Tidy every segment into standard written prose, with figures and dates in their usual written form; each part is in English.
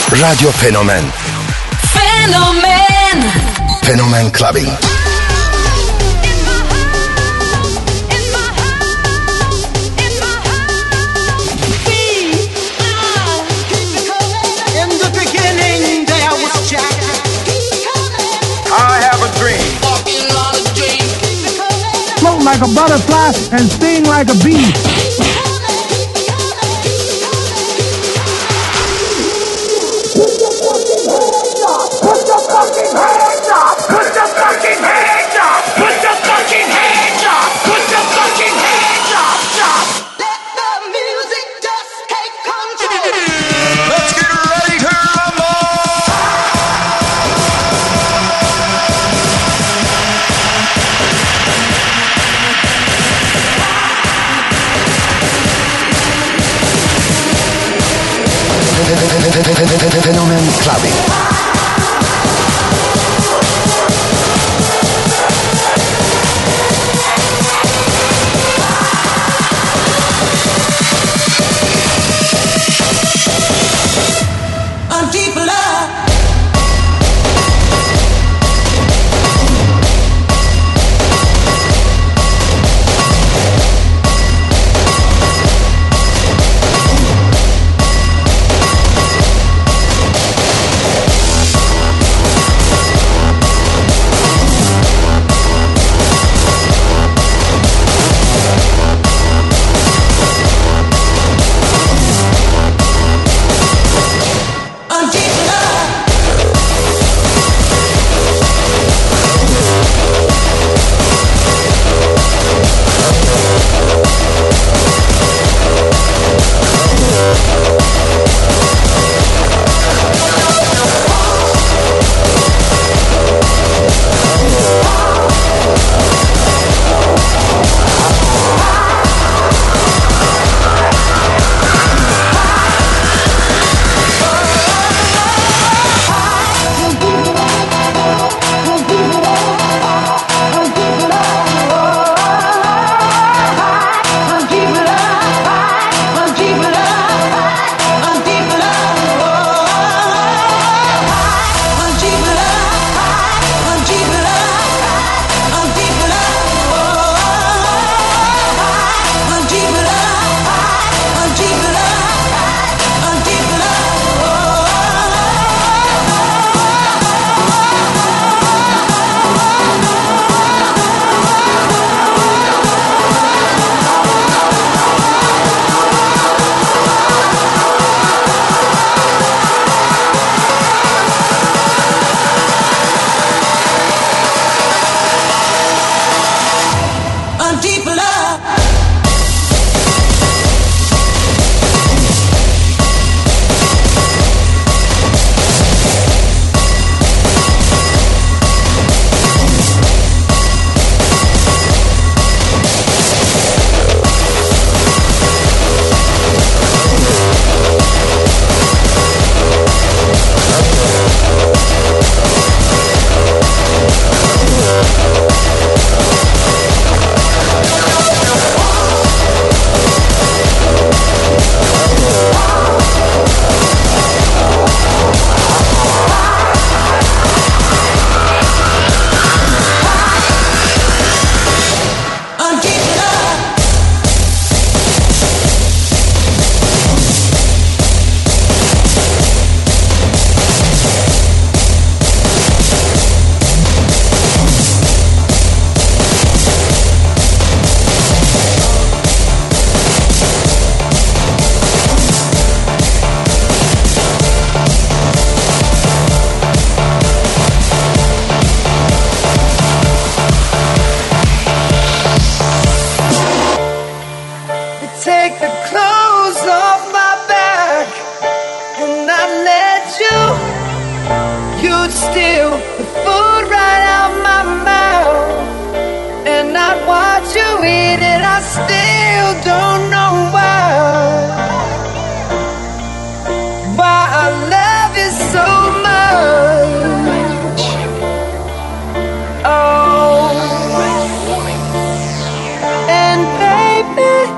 Radyo Fenomen. Fenomen. Fenomen Clubbing. Float like a butterfly and sting like a bee. Put your fucking hands up! Put your fucking hands up! Put your fucking hands up! Put your fucking hands up! Let the music just take control. Let's get ready to rumble! Fenomen Clubbing.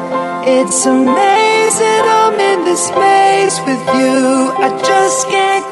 It's amazing I'm in this space with you. I just can't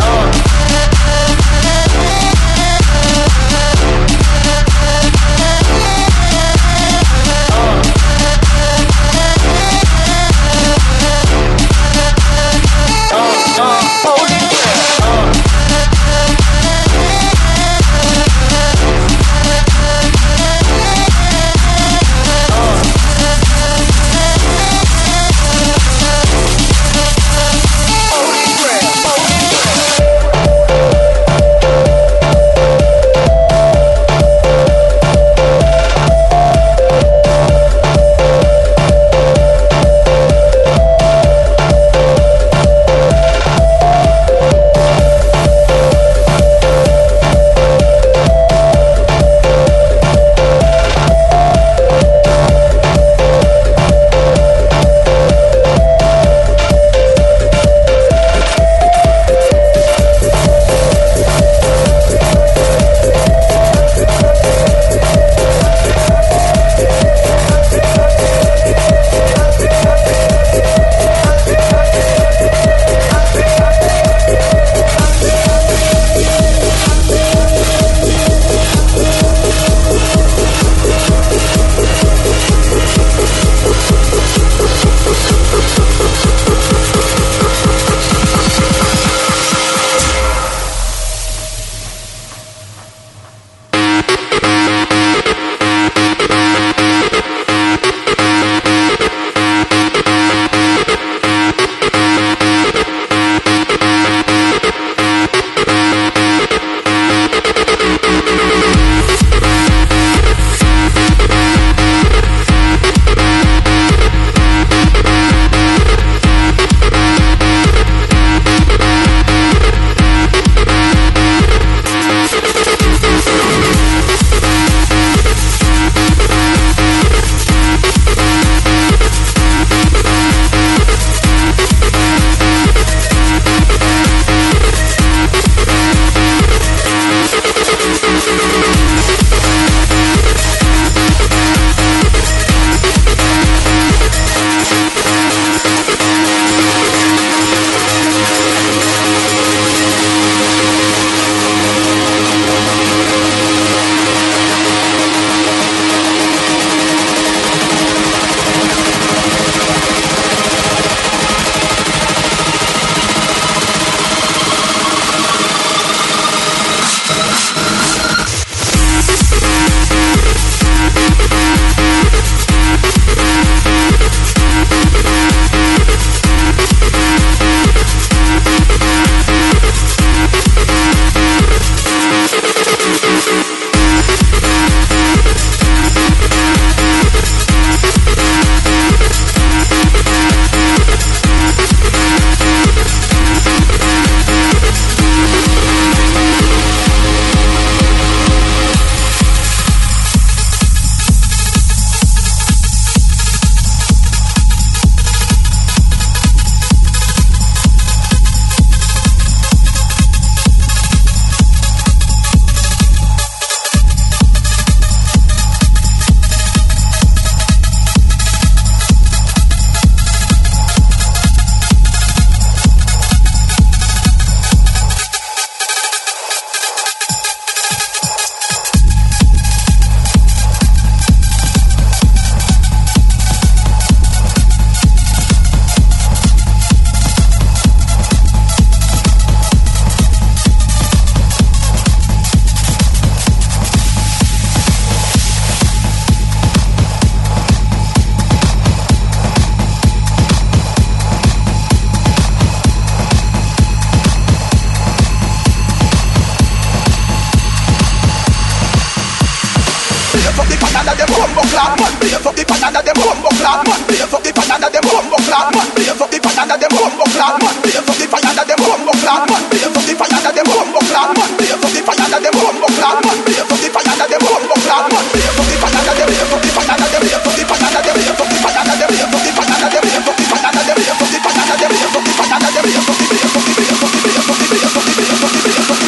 fire them bumbo clap. Beer for the fire them bumbo clap. Beer for the fire them bumbo clap. Beer for the fire them bumbo clap. Beer for the fire them bumbo clap. Beer for the fire them bumbo clap. Beer for the fire them bumbo clap. Beer for the fire them bumbo clap. Beer for the fire them beer for the fire them beer for the fire them beer for the fire them beer for the fire them beer for the fire them beer for the fire them beer for the fire them beer for the beer for the beer for the beer for the beer for the beer for the beer for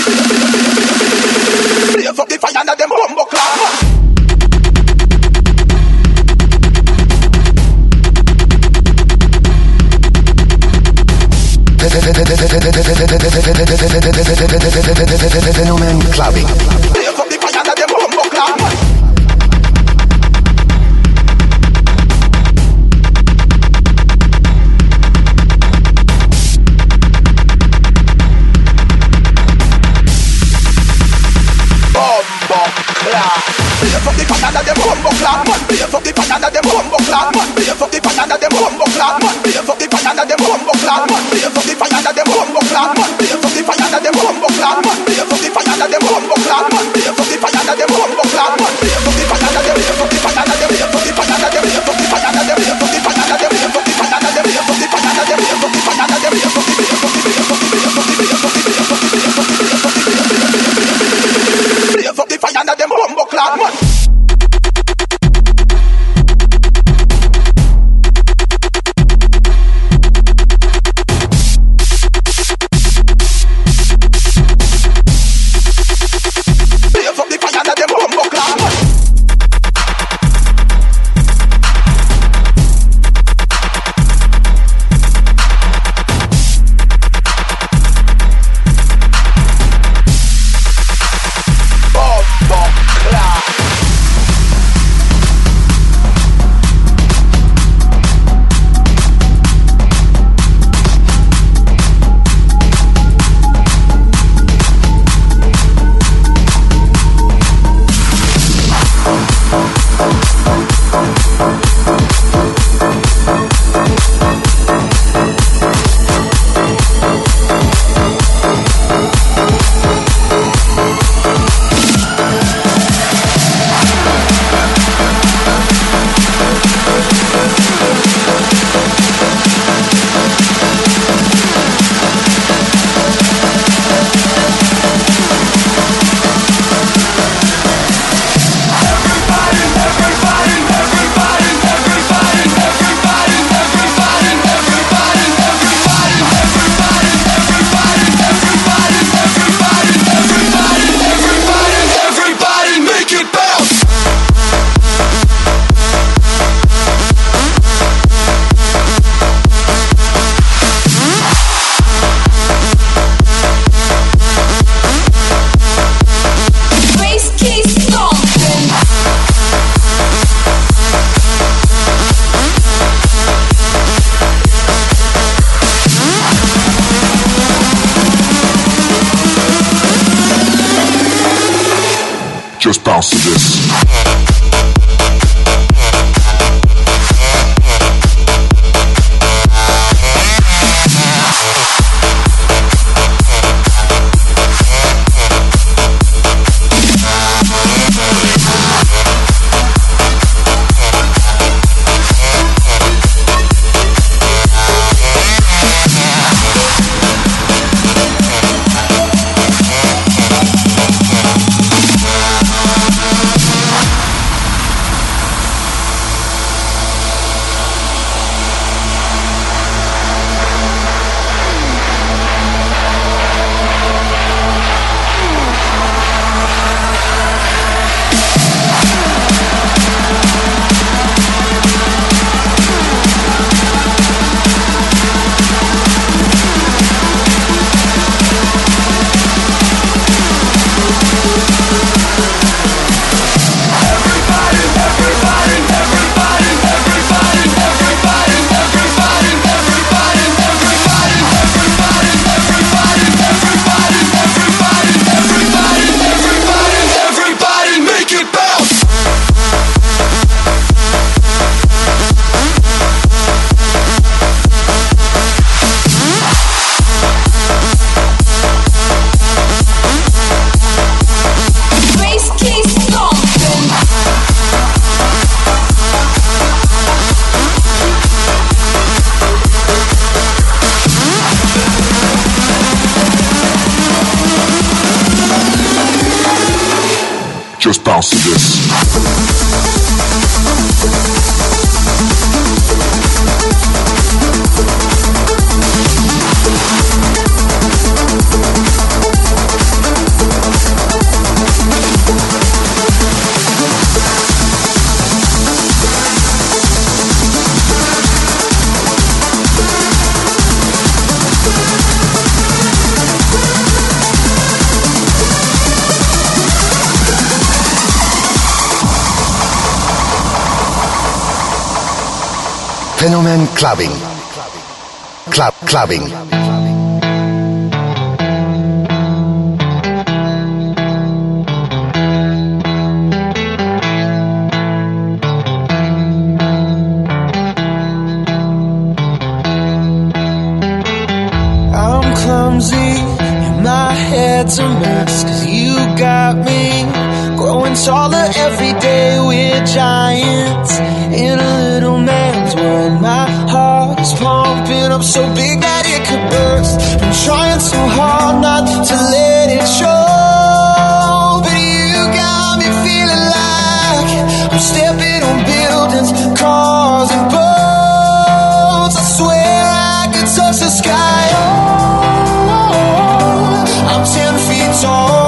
the beer for the fire them bumbo clap. Fenomen Clubbing. Just bounce to this. just bounce to this. Fenomen Clubbing. Clubbing. I'm clumsy and my head's a mess, 'cause you got me growing taller every day. We're giants in a little man's world. My heart is pumping up so big that it could burst. I'm trying so hard not to let it show, but you got me feeling like I'm stepping on buildings, cars and boats. I swear I could touch the sky. Oh, I'm 10 feet tall.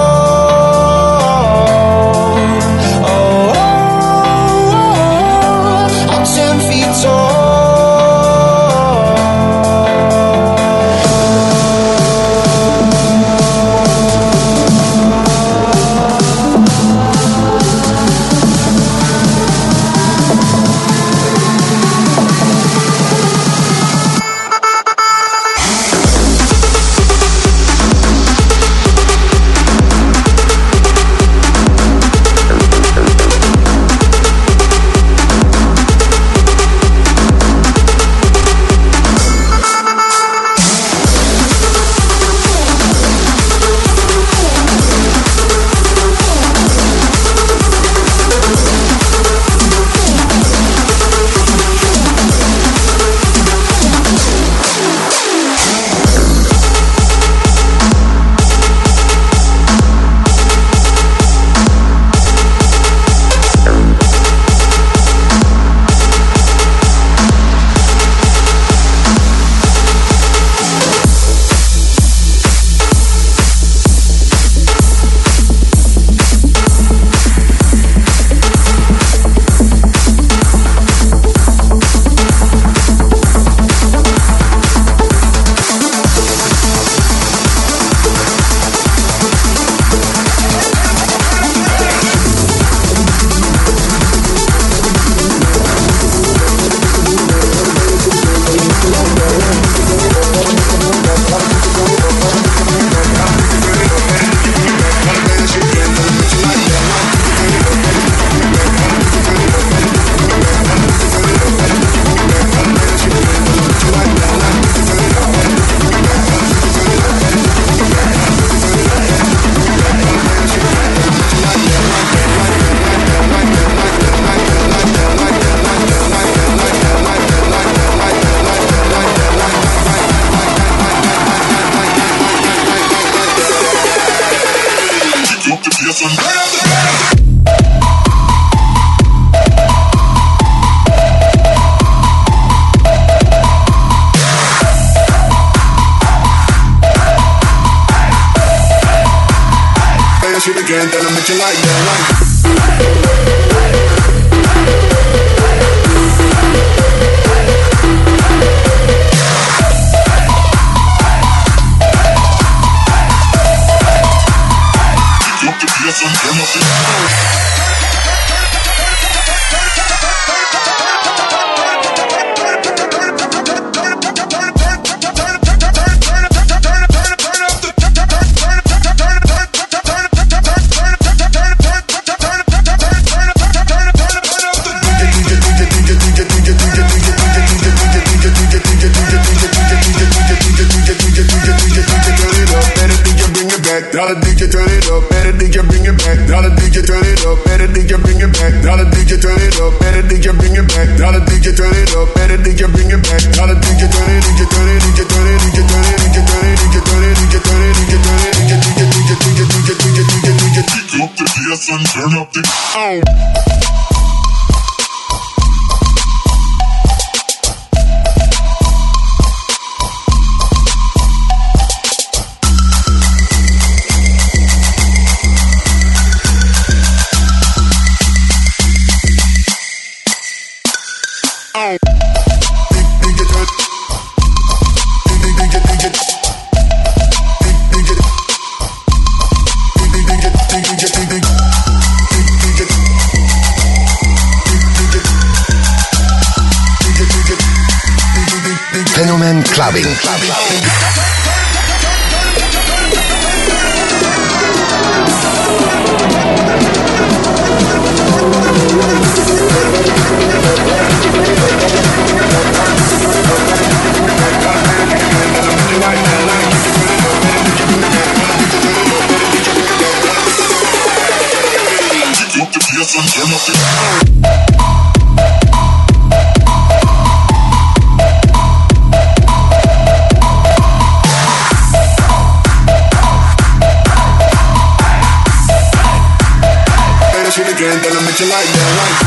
Fenomen Clubbing. Then I'll make you like that.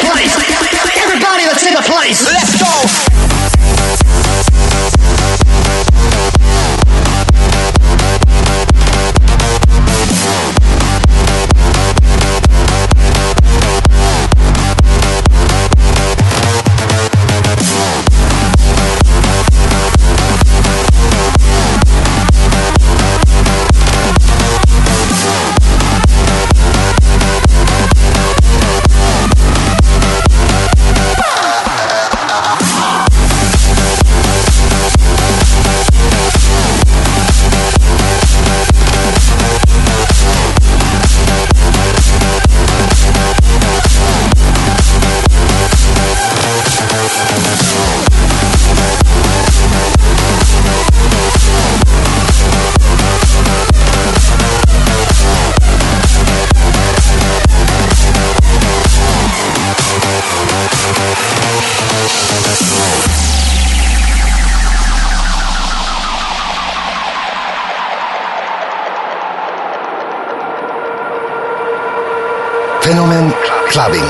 place. Let's go. clubbing.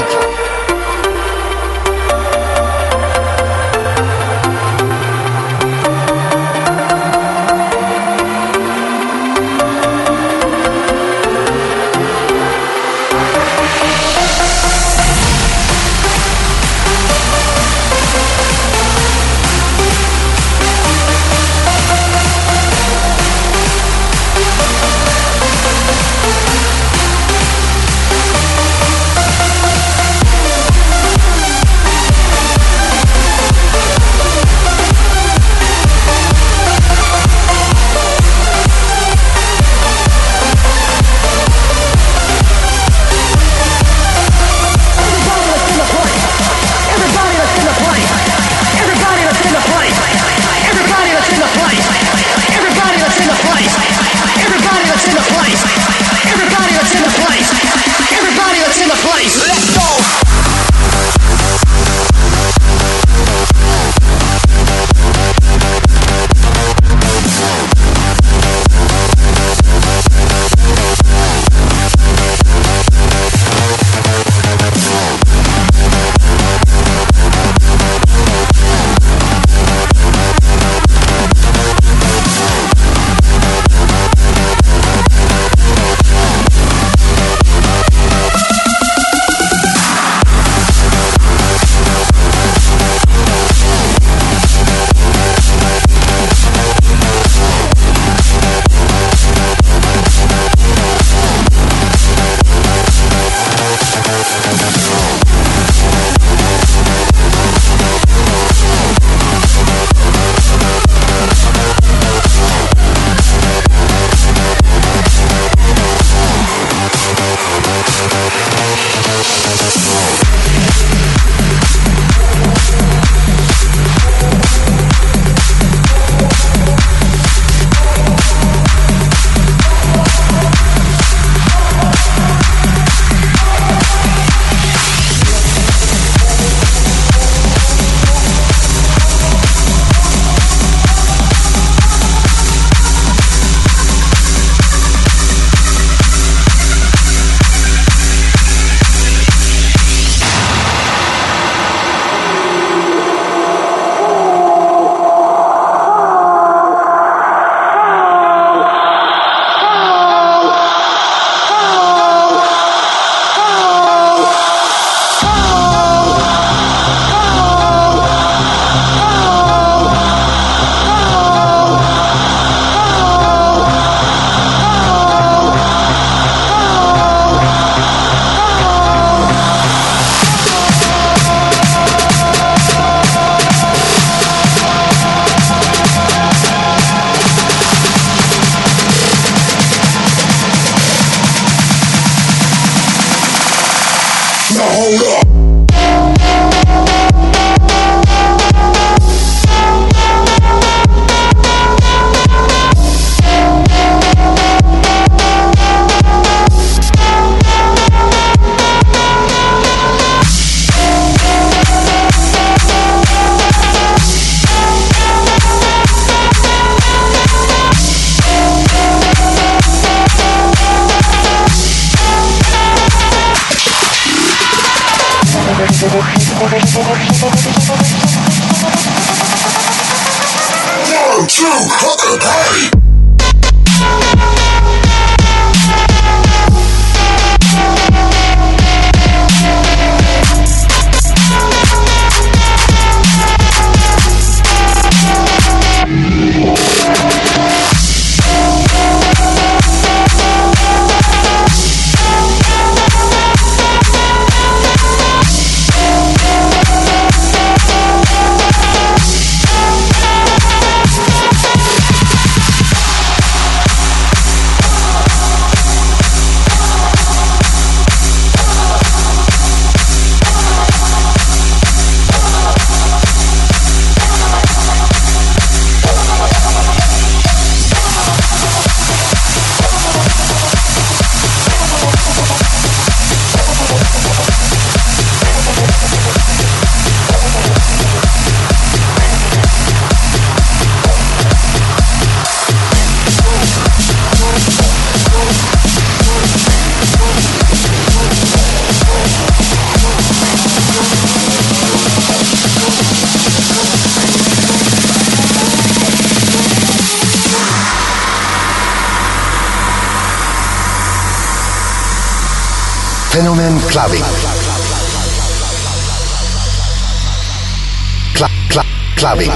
Fenomen Clubbing. Clubbing.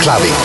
Clubbing.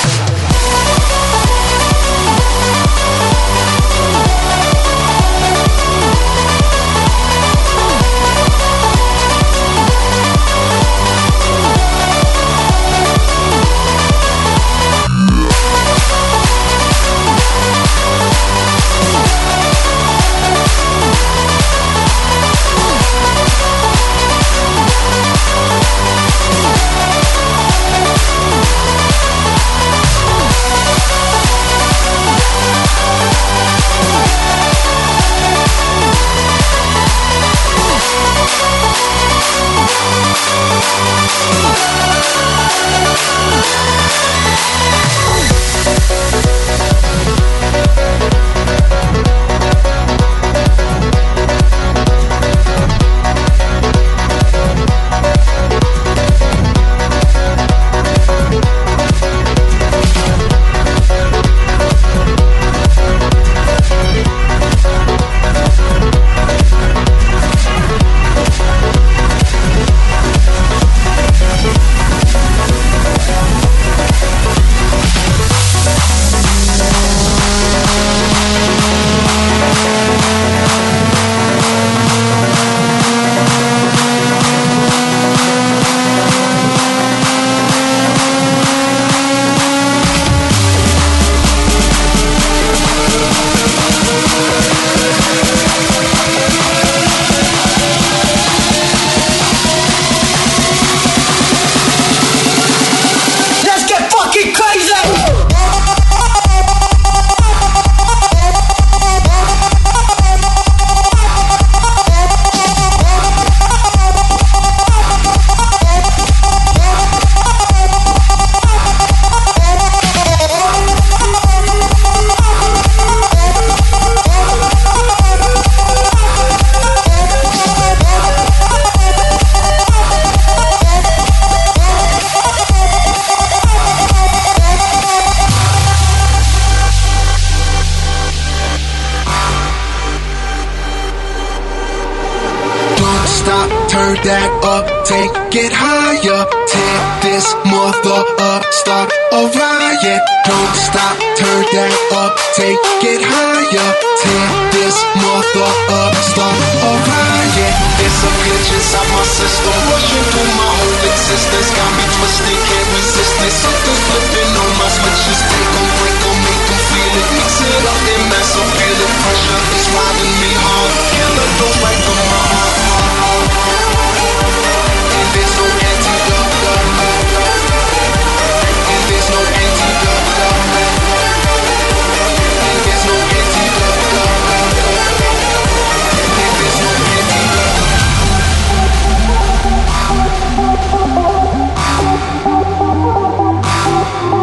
that up, take it higher. Tear this mother up, start a riot. Don't stop, turn that up, take it higher. Tear this mother up, start a riot. It's a glitch inside my system, rushing through my whole existence. Got me twisted, can't resist it. Something flipping on my switches. Take 'em, break 'em, make 'em feel it. Mix it up and mess up, feel it. Pressure is riding me hard. Killer don't like the heart. And there's no antidote. And there's no antidote. And there's no antidote. And there's no antidote.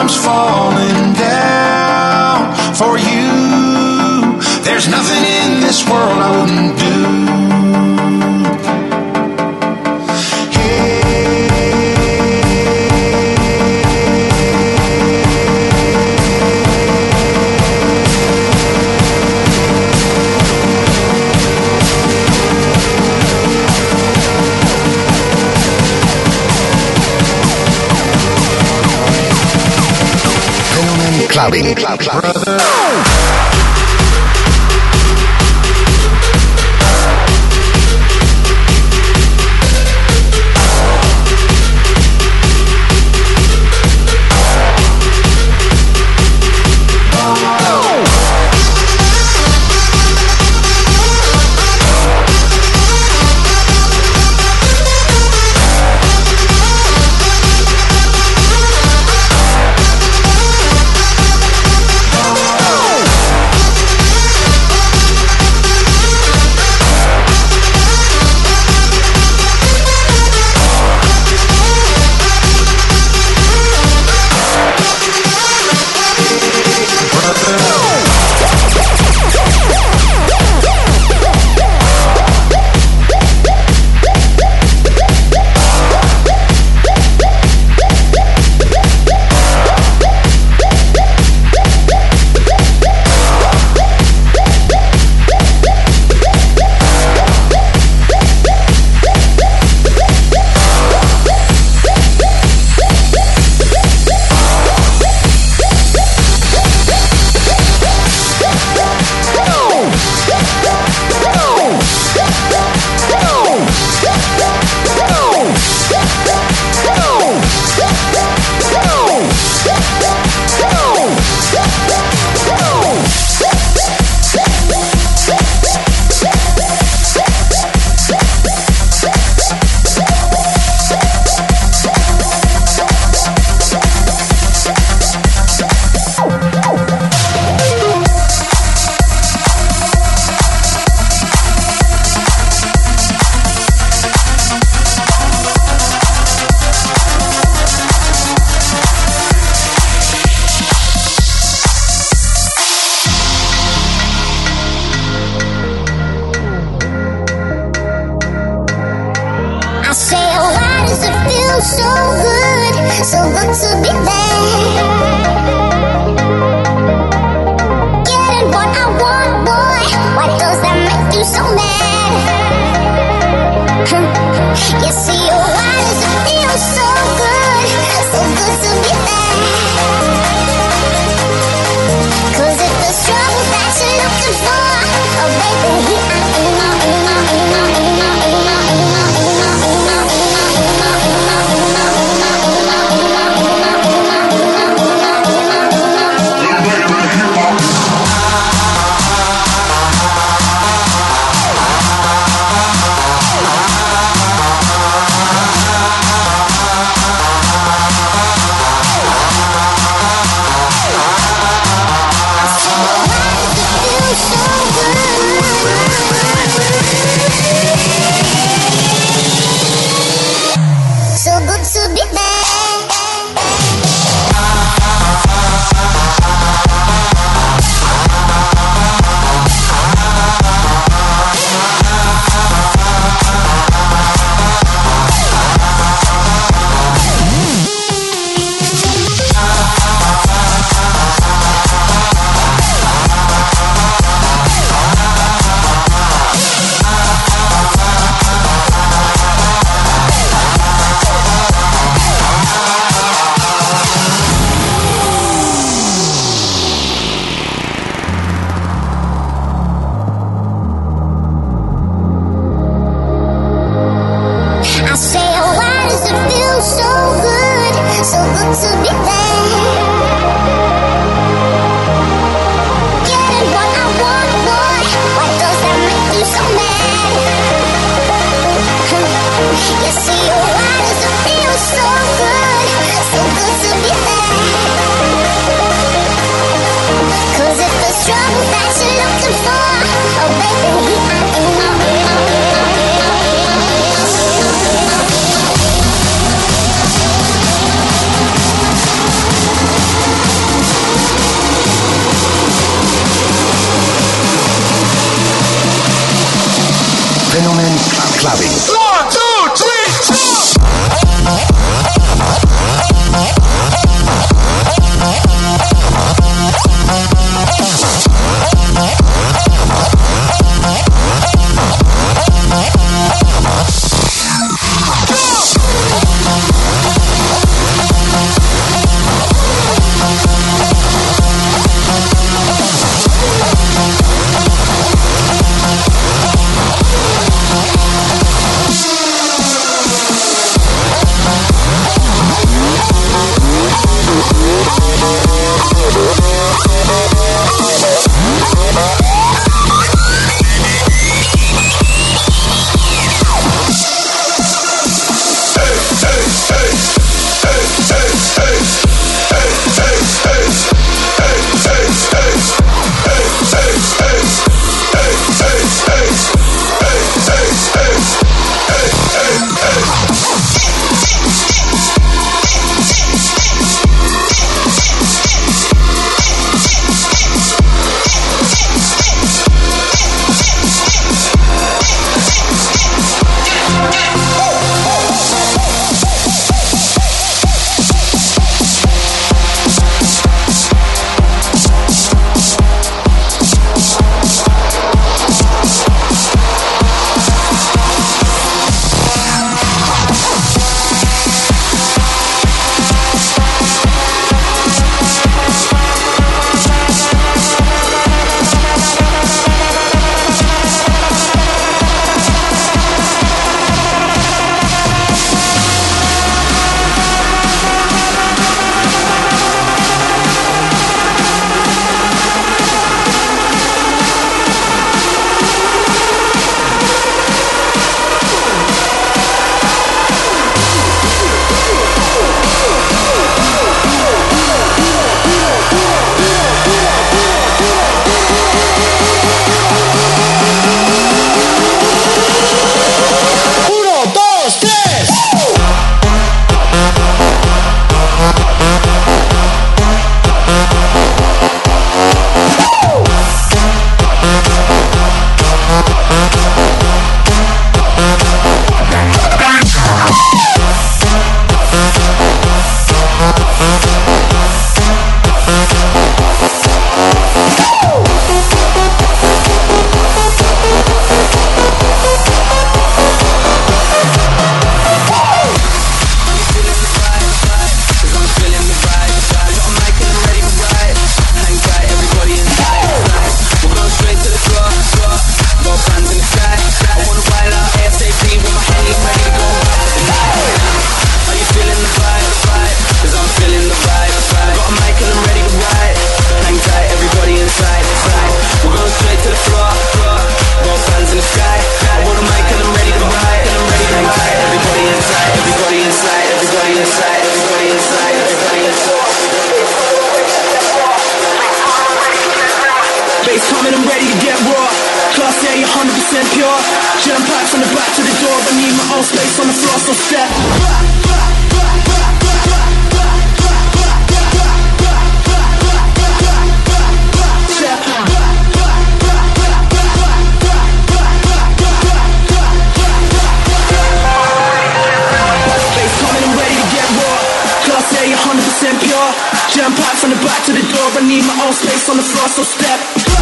comes falling down for you. There's nothing in this world I wouldn't do. Clubbing. Jam packed from the back to the door. I need my own space on the floor, so step. Pure. Jam packed from the back to the door. I need my own space on the floor, so step.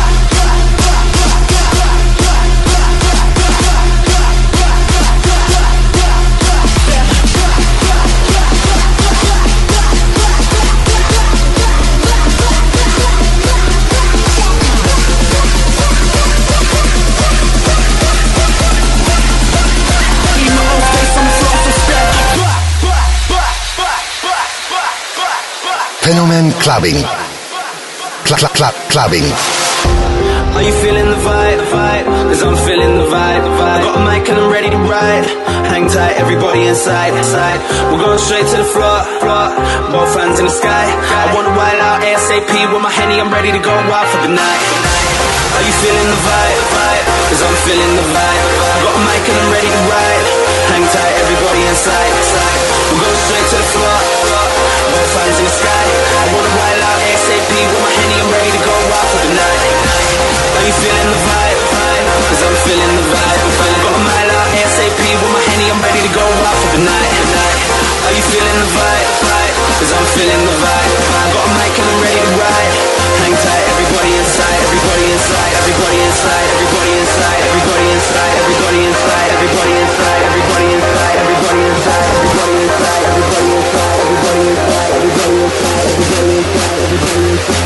Fenomen Clubbing. Clubbing. Are you feeling the vibe? Cause I'm feeling the vibe. I got a mic and I'm ready to ride. Hang tight, everybody inside. We're going straight to the floor. Both hands in the sky. I wanna wild out ASAP with my Henny. I'm ready to go wild for the night. Are you feeling the vibe? Cause I'm feeling the vibe. I got a mic and I'm ready to ride. Hang tight, everybody inside. We're going straight to the floor. Both hands in the sky. I wanna wild out ASAP with my Henny. I'm ready to go wild for the night. Are you feeling the vibe? Cause I'm feeling the vibe. Got a mile out ASAP with my Henny. I'm ready to go wild for the night. Are you feeling the vibe? Cause I'm feeling the vibe. Got a mic and I'm ready to ride. Hang tight, everybody inside. Everybody inside. Everybody inside. Everybody inside. Everybody inside. Everybody inside. Everybody inside. Everybody inside. Everybody inside. Everybody inside. Everybody inside. Everybody inside. Everybody inside. Everybody inside. Everybody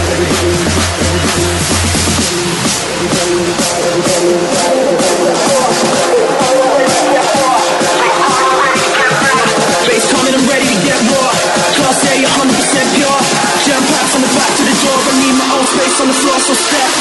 bass coming, I'm ready to get raw. Class A, 100% pure. Jam packed from the back to the door. I need my own space on the floor, so step.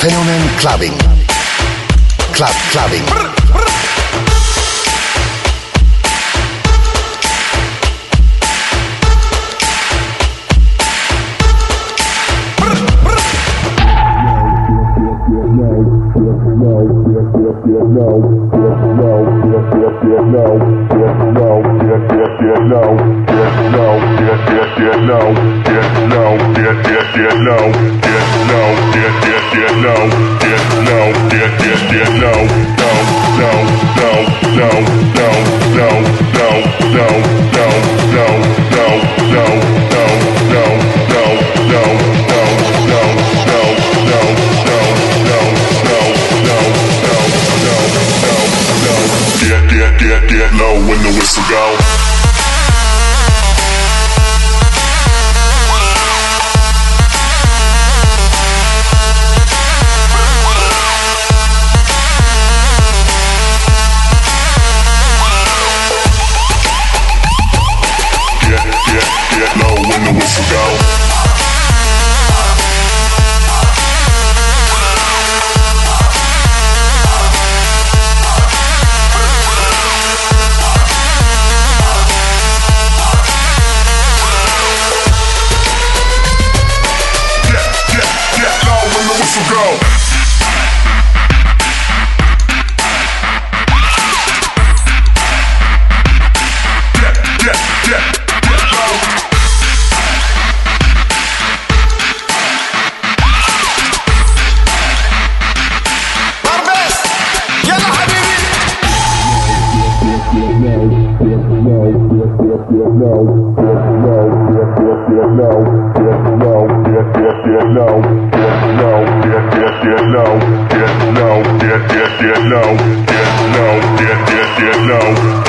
Fenomen Clubbing. Clubbing. Get low when the whistle go. Get low when the whistle go. Get low.